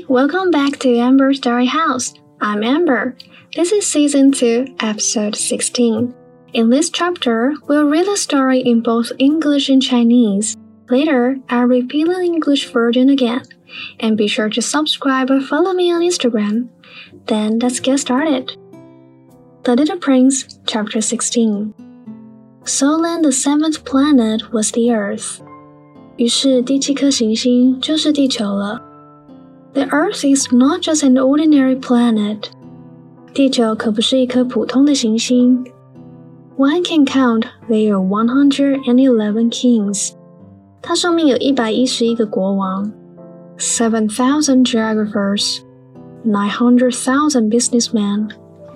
welcome back to Amber's Story House. I'm Amber. This is Season 2, Episode 16. In this chapter, we'll read the story in both English and Chinese. Later, I'll repeat the English version again. And be sure to subscribe or follow me on Instagram. Then let's get started. The Little Prince, Chapter 16. Solon, the seventh planet, was the Earth. 於是第七顆行星就是地球了。The Earth is not just an ordinary planet. 地球可不是一顆普通的行星。One can count there are 111 kings. 它上面有111個國王。7,000 geographers. 900,000 businessmen.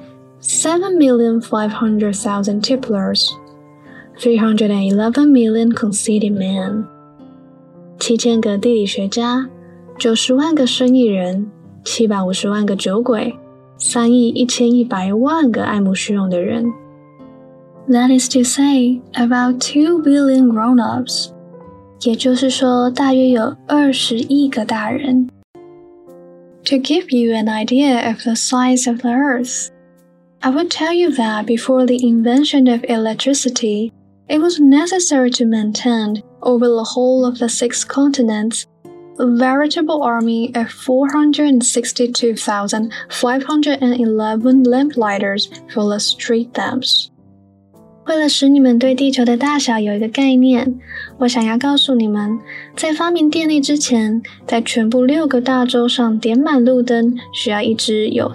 7,500,000 tipplers. 311 million conceited men. 7000個地理學家，90萬個生意人，750萬個酒鬼，3億1100萬個愛慕虛榮的人。That is to say, about 2 billion grown-ups. 也就是說，大約有20億個大人。To give you an idea of the size of the Earth, I would tell you that before the invention of electricity, it was necessary to maintain, over the whole of the 6 continents, a veritable army of 462,511 lamplighters for the street lamps. 為了使你們對地球的大小有一個概念，我想要告訴你們，在發明電力之前，在全部6個大洲上點滿路燈，需要一支有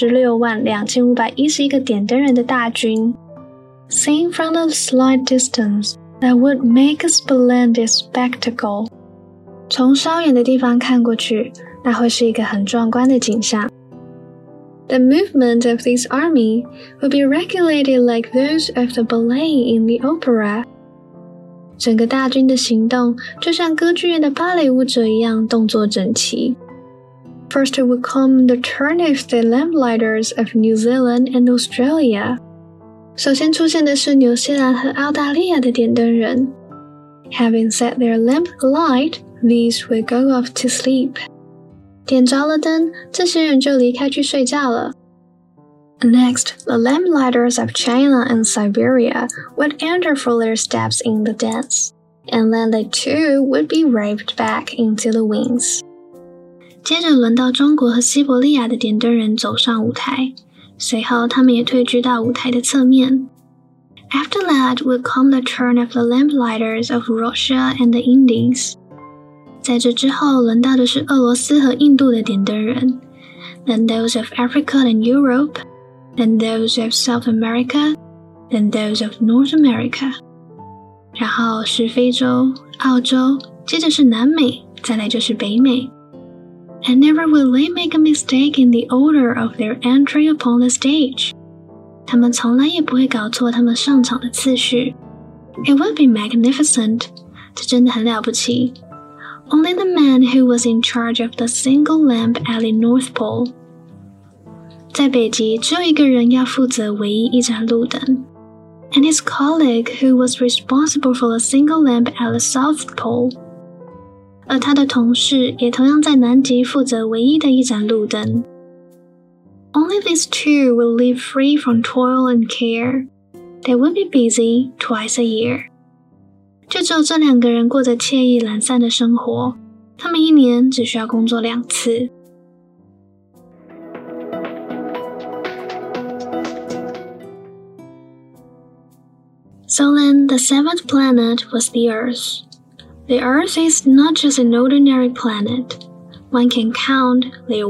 462511個點燈人的大軍。Seen from a slight distance, that would make a splendid spectacle. 從稍遠的地方看過去，那會是一個很壯觀的景象。The movement of this army would be regulated like those of the ballet in the opera. 整個大軍的行動就像歌劇院的芭蕾舞者一樣，動作整齊。First would come the turn of the lamplighters of New Zealand and Australia. 首先出現的是紐西蘭和澳大利亞的點燈人。Having set their lamp alight, these will go off to sleep. 點着了燈，這些人就離開去睡覺了。Next, the lamplighters of China and Siberia would enter for their steps in the dance, and then they too would be waved back into the wings. 接着輪到中國和西伯利亞的點燈人走上舞台，隨後他們也退居到舞台的側面。After that would come the turn of the lamplighters of Russia and the Indies. 在這之後，輪到的是俄羅斯和印度的點燈人。Then those of Africa and Europe, then those of South America, then those of North America. 然後是非洲、澳洲，接着是南美，再來就是北美。And never will they make a mistake in the order of their entry upon the stage. 他們從來也不會搞錯他們上場的次序。It would be magnificent. 這真的很了不起。Only the man who was in charge of the single lamp at the North Pole. 在北極，只有一個人要負責唯一一盞路燈。And his colleague who was responsible for the single lamp at the South Pole. 而他的同事也同樣在南極負責唯一的一盞路燈。Only these two will live free from toil and care. They will be busy twice a year. 就只有這2個人過着愜意懶散的生活，他們一年只需要工作2次。Solon, the seventh planet, was the Earth. The Earth is not just an ordinary planet. One can count there are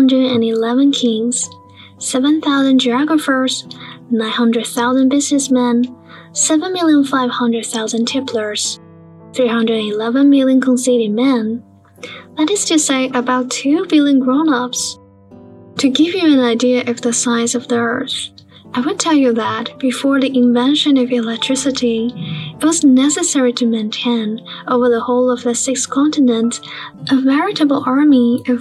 111 kings, 7,000 geographers, 900,000 businessmen, 7,500,000 tipplers, 311 million conceited men. That is to say, about 2 billion grown-ups. To give you an idea of the size of the Earth, I would tell you that before the invention of electricity, it was necessary to maintain, over the whole of the 6 continents, a veritable army of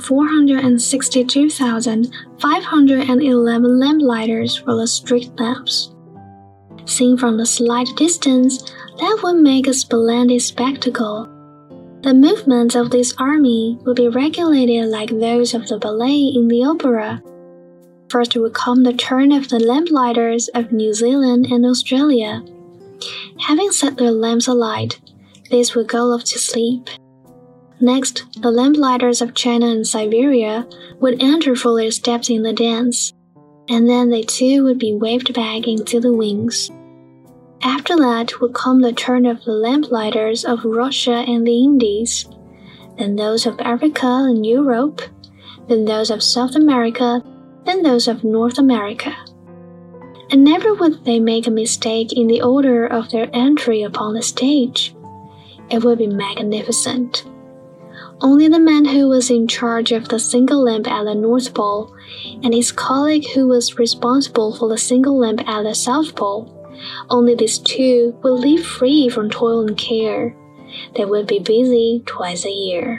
462,511 lamplighters for the street lamps. Seen from a slight distance, that would make a splendid spectacle. The movements of this army would be regulated like those of the ballet in the opera. First would come the turn of the lamplighters of New Zealand and Australia. Having set their lamps alight, these would go off to sleep. Next, the lamplighters of China and Siberia would enter for their steps in the dance, and then they too would be waved back into the wings. After that would come the turn of the lamplighters of Russia and the Indies, then those of Africa and Europe, then those of South America, then those of North America. And never would they make a mistake in the order of their entry upon the stage. It would be magnificent. Only the man who was in charge of the single lamp at the North Pole and his colleague who was responsible for the single lamp at the South Pole, only these two would live free from toil and care. They would be busy twice a year.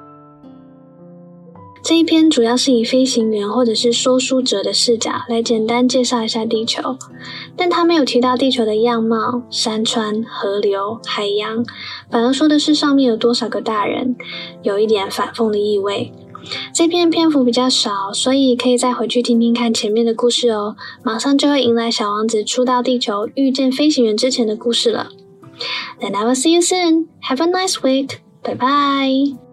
這一篇主要是以飛行員或者是說書者的視角來簡單介紹一下地球，但他沒有提到地球的樣貌、山川、河流、海洋，反而說的是上面有多少個大人，有一點反諷的意味。這篇篇幅比較少，所以可以再回去聽聽看前面的故事哦，馬上就會迎來小王子初到地球遇見飛行員之前的故事了。Then I will see you soon. Have a nice week. Bye bye.